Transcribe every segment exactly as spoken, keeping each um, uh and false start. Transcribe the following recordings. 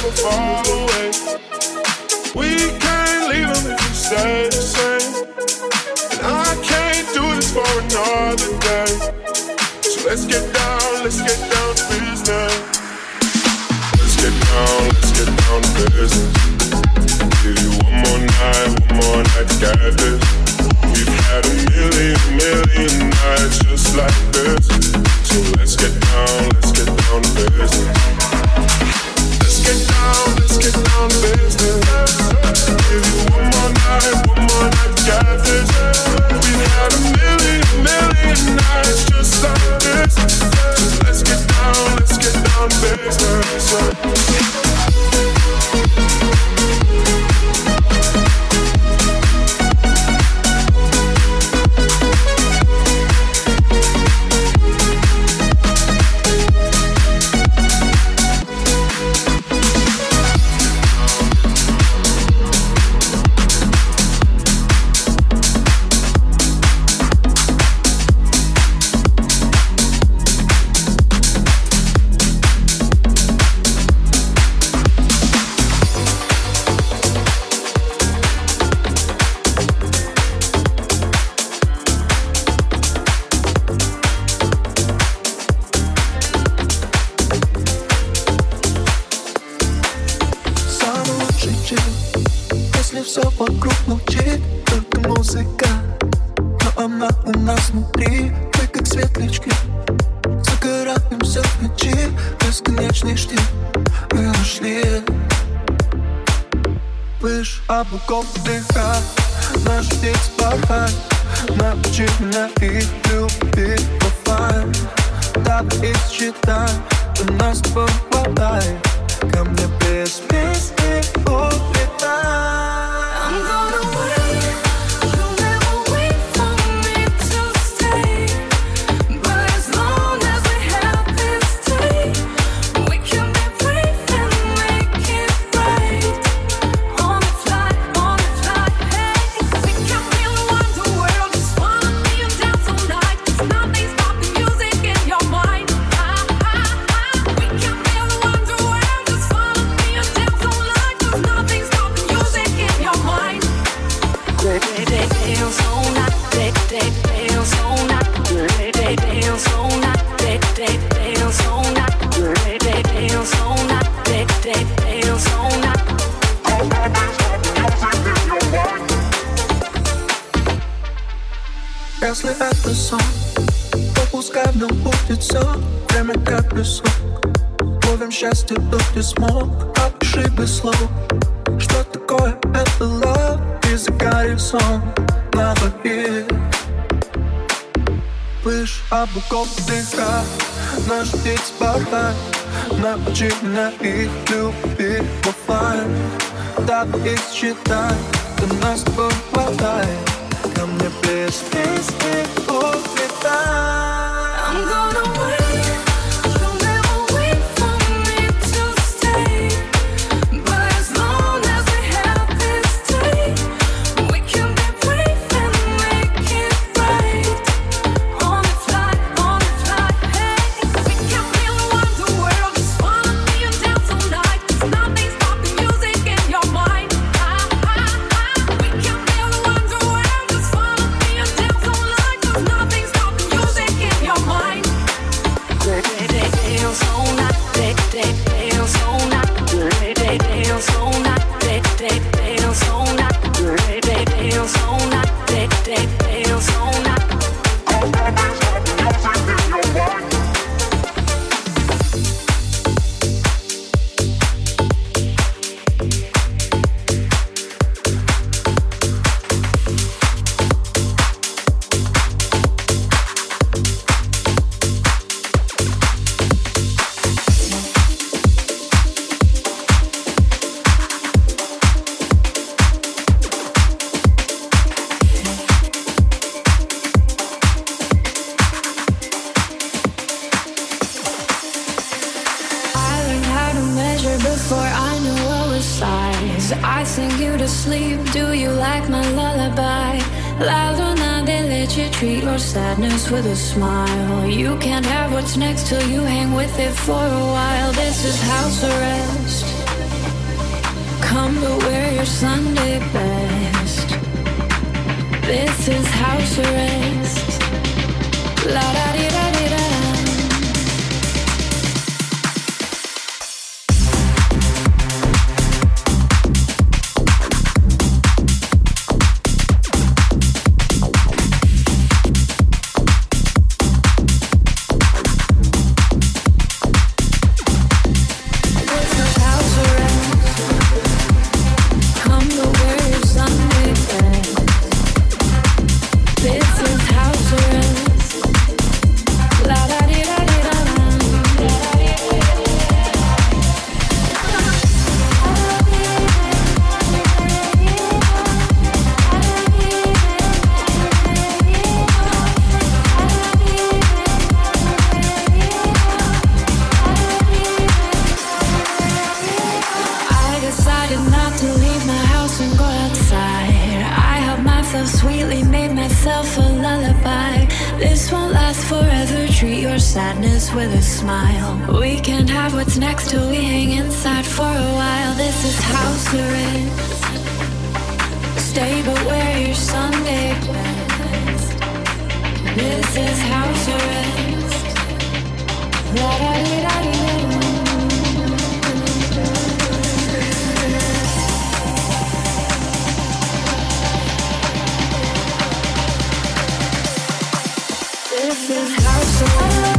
never fall away. We can't leave them if we stay the same. And I can't do this for another day. So let's get down, let's get down to business. Let's get down, let's get down to business. Give you one more night, one more night to get this. We've had a million, million nights just like this. So let's get down, let's get down to business. Let's get down, let's get down to business. Give you one more night, one more night to get this. We've had a million, million nights just like this. So let's get down, let's get down to business. Облаков дыха, наш птиц порхай. Научи меня их любить в офлайн. Давай их считай, у нас с тобой хватает. Ко мне без песни улетай. I'm gonna wait, you'll never wait for me to stay. But as long as we have this day, we can be brave and make it right. On the fly, on the fly, hey. We can really want the world, just follow me and dance all night. There's nothing stopping music in your mind. Ah, ah, ah. We can really want the world, just follow me and dance all night. There's nothing stopping music in your mind. Dance all night, dance all night, dance all night, dance all night, dance all night, dance all night. Если это сон, то пускай в нем будет все. Время как песок. Ловим счастье, то ты смог. Опиши без слов, что такое это love. И загорит сон на двоих. Пыш облаков дыха, наш птиц порхай. Научи меня их любить в офлайн. Давай их считай, до нас с тобой хватает. Ко мне без песни улетай. I'm gonna wait, you'll never wait for me to stay. But as long as we have this day, we can be brave and make it right. On the fly, on the fly, hey. We can really want the world, just follow me and dance all night. There's nothing stopping music in your mind. Ah, ah, ah. We can really want the world, just follow me and dance all night. There's nothing stopping music in your mind. Dance all night, dance all night, dance all night, dance all night, dance all night, dance all night. Before I knew what was size, I sing you to sleep. Do you like my lullaby? La luna de leche, treat your sadness with a smile. You can't have what's next till you hang with it for a while. This is house arrest. Come but wear your Sunday best. This is house arrest. La da di da di da. With a smile, we can have what's next till we hang inside for a while. This is house arrest. Stay but wear your Sunday best. This is house arrest. La da di da di da. This is house arrest.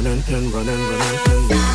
running and running, running and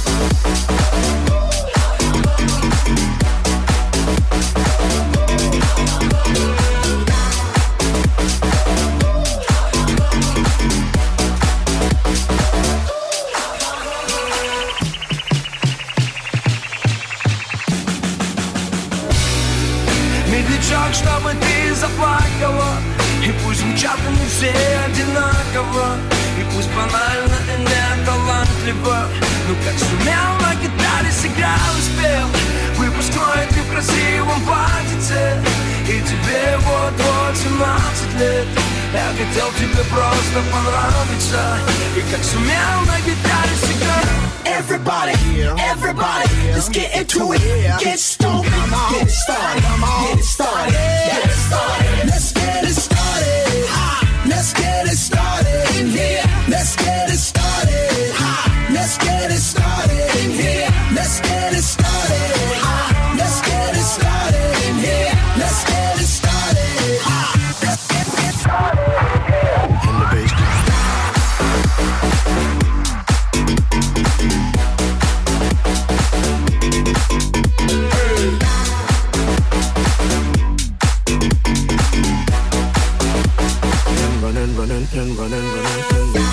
Медлячок, чтобы ты заплакала, и пусть звучат они все одинаково, и пусть банально и не талантливо, но как сумел на гитаре сыграл и спел. Выпускной ты в красивом платьице, и тебе вот-вот семнадцать лет. Я хотел тебе просто понравиться, и как сумел на гитаре сыграть. Everybody, everybody, let's get into it. Get stoked, get it started, get it started, get it started. Let's get it started. Let's get it started in here. Let's get it started. Let's get it started in here. Let's get it started. Let's get it started in here. Let's get it started. Let's get it started in here. In the basement. running, running and running, running and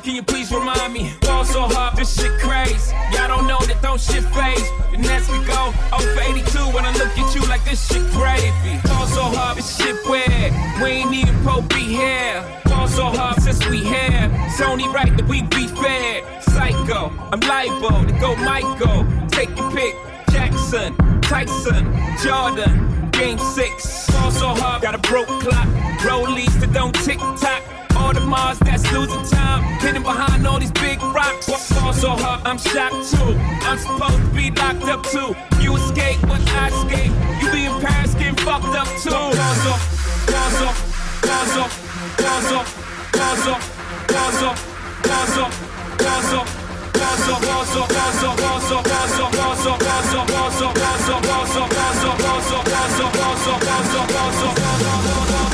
can you please remind me? Fall so hard, this shit crazy. Y'all don't know that don't shit phase. And as we go, oh for eighty-two when I look at you like this shit gravy. Fall so hard, this shit weird. We ain't even Pope be here. Fall so hard since we here. It's only right that we be fair. Psycho, I'm liable to go Michael. Take your pick. Jackson, Tyson, Jordan. Game six. Fall so hard, got a broke clock. Rollies that don't tick tock. All the Mars that's losing time, hidden behind all these big rocks. Fall so hard, I'm shocked too. I'm supposed to be locked up too. You escape, but I escape. You be in Paris getting fucked up too. Falls off, falls off, falls off, falls off, falls off, falls off, falls off, falls off. Falls off, falls off, falls off, falls off, falls off, falls off, falls off, falls off, falls off, falls off, falls off, falls off, falls off, falls off, falls off, falls off, falls off.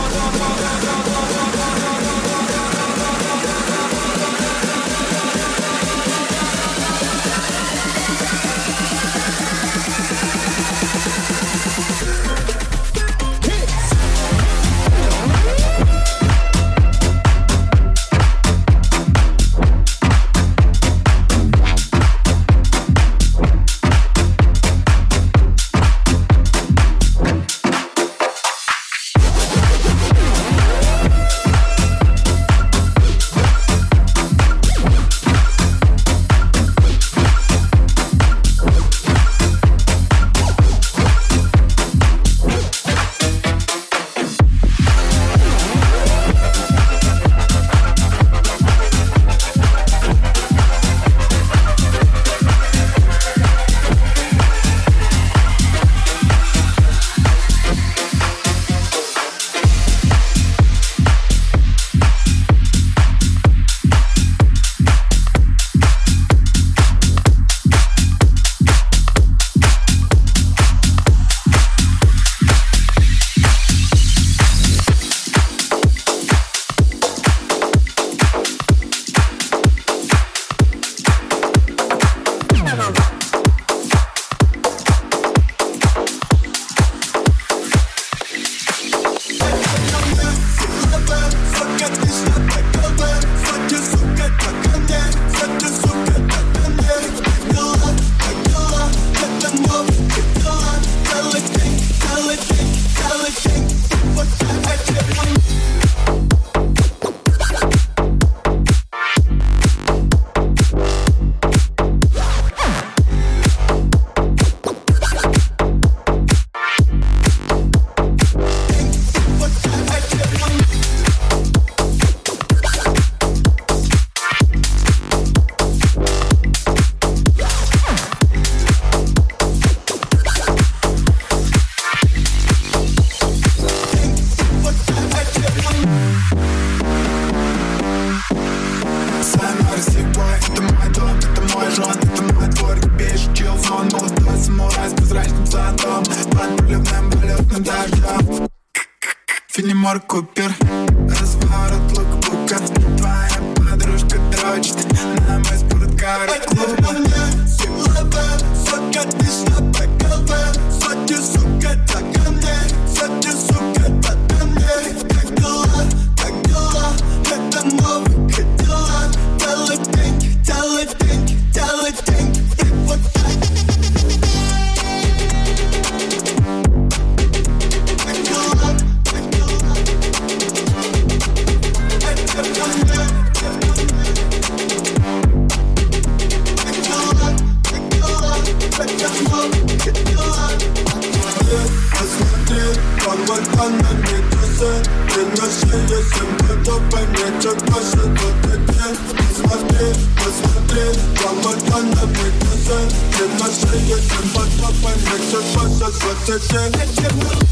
Филимор Купер, разворот лукбука. Твоя подружка дрочит на мой спорткар клуба. Сука, ты что такова? Сотни, сука, так ко мне. Сотни, сука, так ко мне. Как дела, как дела? Это новый Кадиллак. Делай деньги, делай деньги, делай деньги. И вот так. Посмотри, погода на метусе. Ты на шее всем готовы, нечего больше додать. Посмотри, посмотри, погода на метусе. Ты на шее всем готовы, нечего больше додать.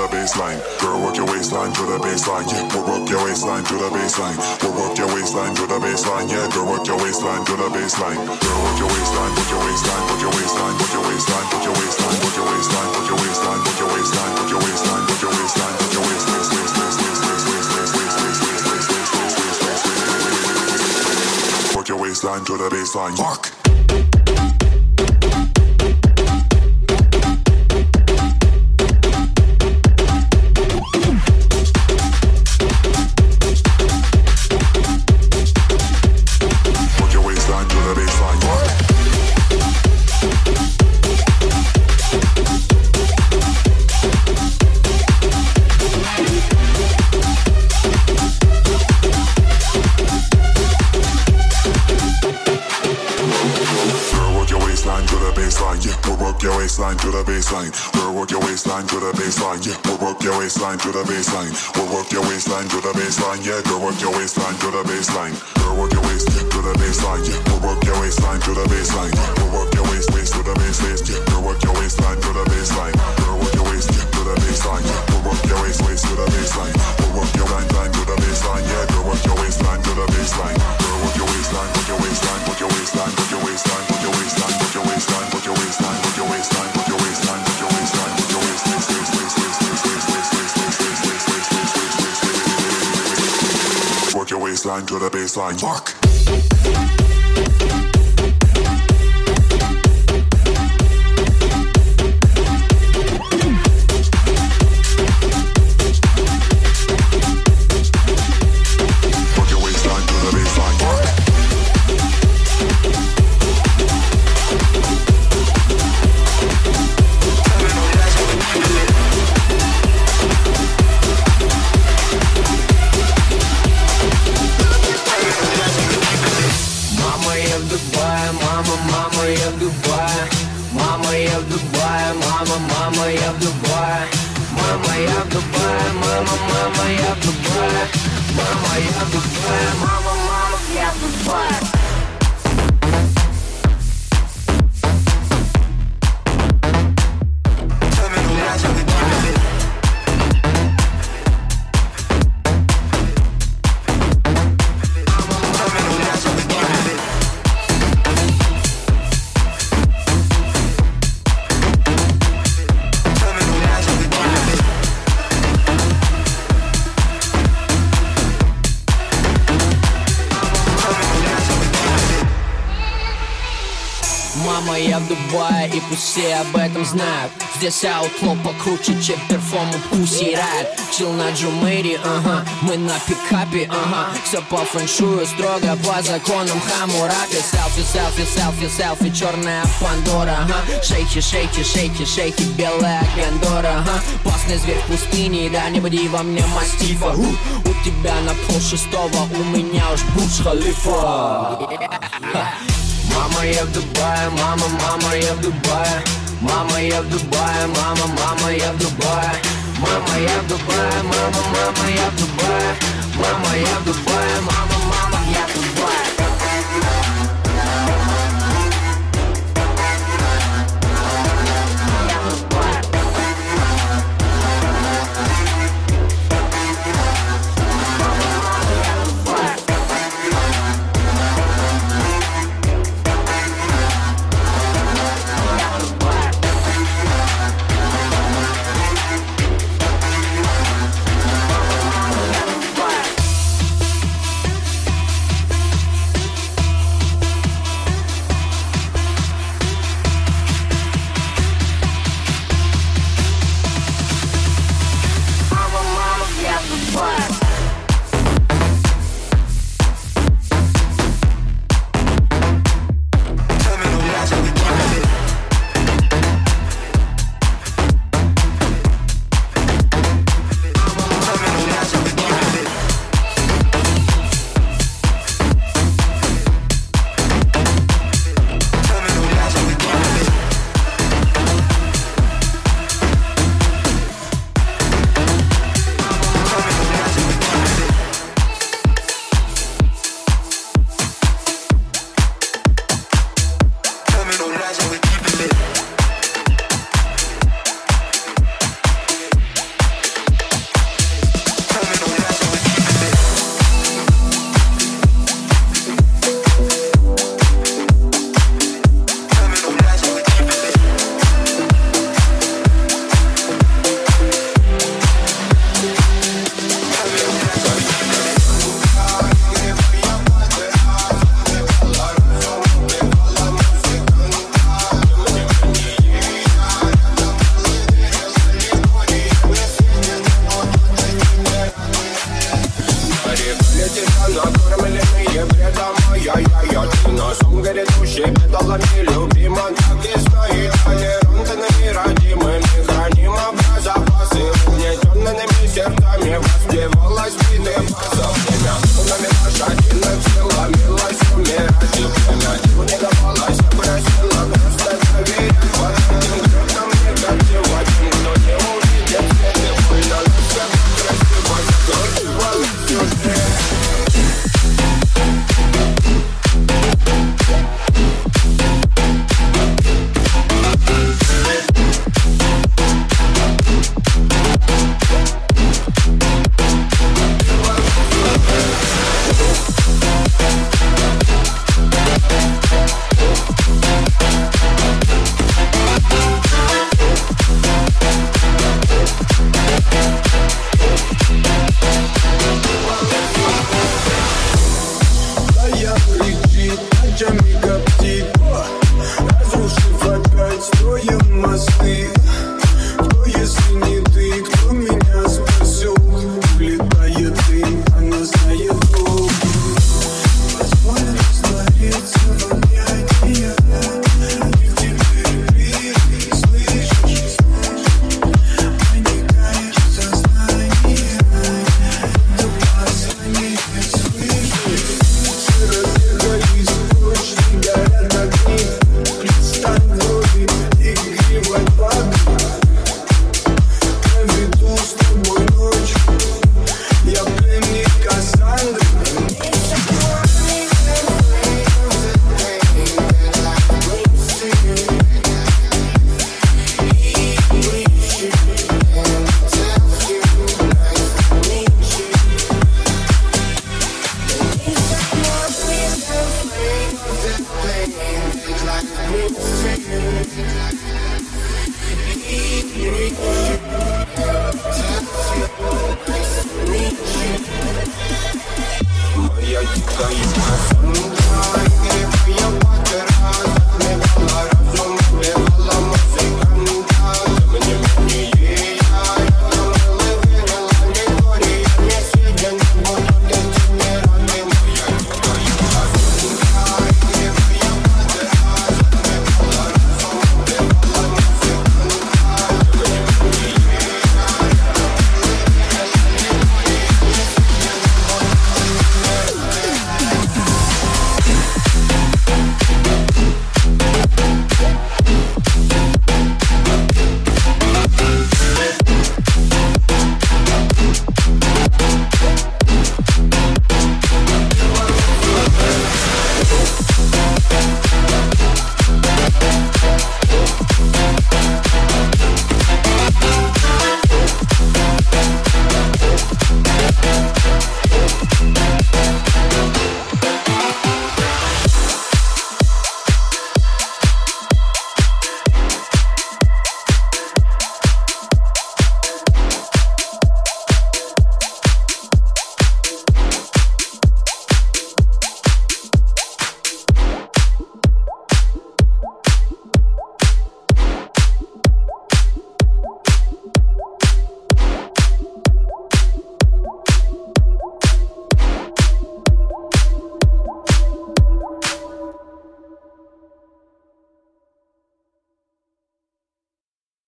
the baseline. Girl, work your waistline to the baseline. Yeah, we'll work your waistline to the baseline. We'll work your waistline to the baseline. Yeah, girl, work your waistline to the baseline. Girl, work your waistline, work your waistline, work your waistline, work your waistline, work your waistline, work your waistline, work your waistline, work your waistline, work your waistline, work your waistline, work your waistline, waist, waist, waist, waist, waist, waist, waist, waist, waist, waist, waist, waist, waist, waist. Work your waistline to the baseline. Work. To the baseline, we'll work your waistline to the baseline. Yeah, we'll work your waistline to the baseline. We'll work your waistline to the baseline. Yeah, girl, work your waistline to the baseline. Girl, work your waist to the baseline. Yeah, we'll work your waistline to the baseline. We'll work your waist waist to the base waist. Yeah, girl, work your waistline to the baseline. Girl, work your waist to the baseline. Yeah, we'll work your waist waist to the baseline. We'll work your line line to the baseline. Yeah, girl, work your waistline to the baseline. Girl, work your waistline, work your waistline, work your waistline, work your waistline, work your waistline, work your waistline, work your waistline, work your waistline. Work your waistline to the baseline. Mark. Я в Дубае, и пусть все об этом знают. Здесь аутло покруче, чем перформу Pussy Riot. Чил на Джумейре, ага, мы на пикапе, ага. Все по фэншую, строго по законам Хаммурапи. Селфи, селфи, селфи, селфи, черная Пандора, ага. Шейки, шейки, шейки, шейки, белая Гандора, ага. Опасный зверь в пустыне, да не буди во мне мастифа. У, у тебя на пол шестого, у меня уж Бурдж-Халифа. Мама, я в Дубае, мама, мама, я в Дубае. Мама, я в Дубае, мама, мама, я в Дубае. Мама, я в Дубае, мама, мама, я в Дубае. Мама, я в Дубае, мама.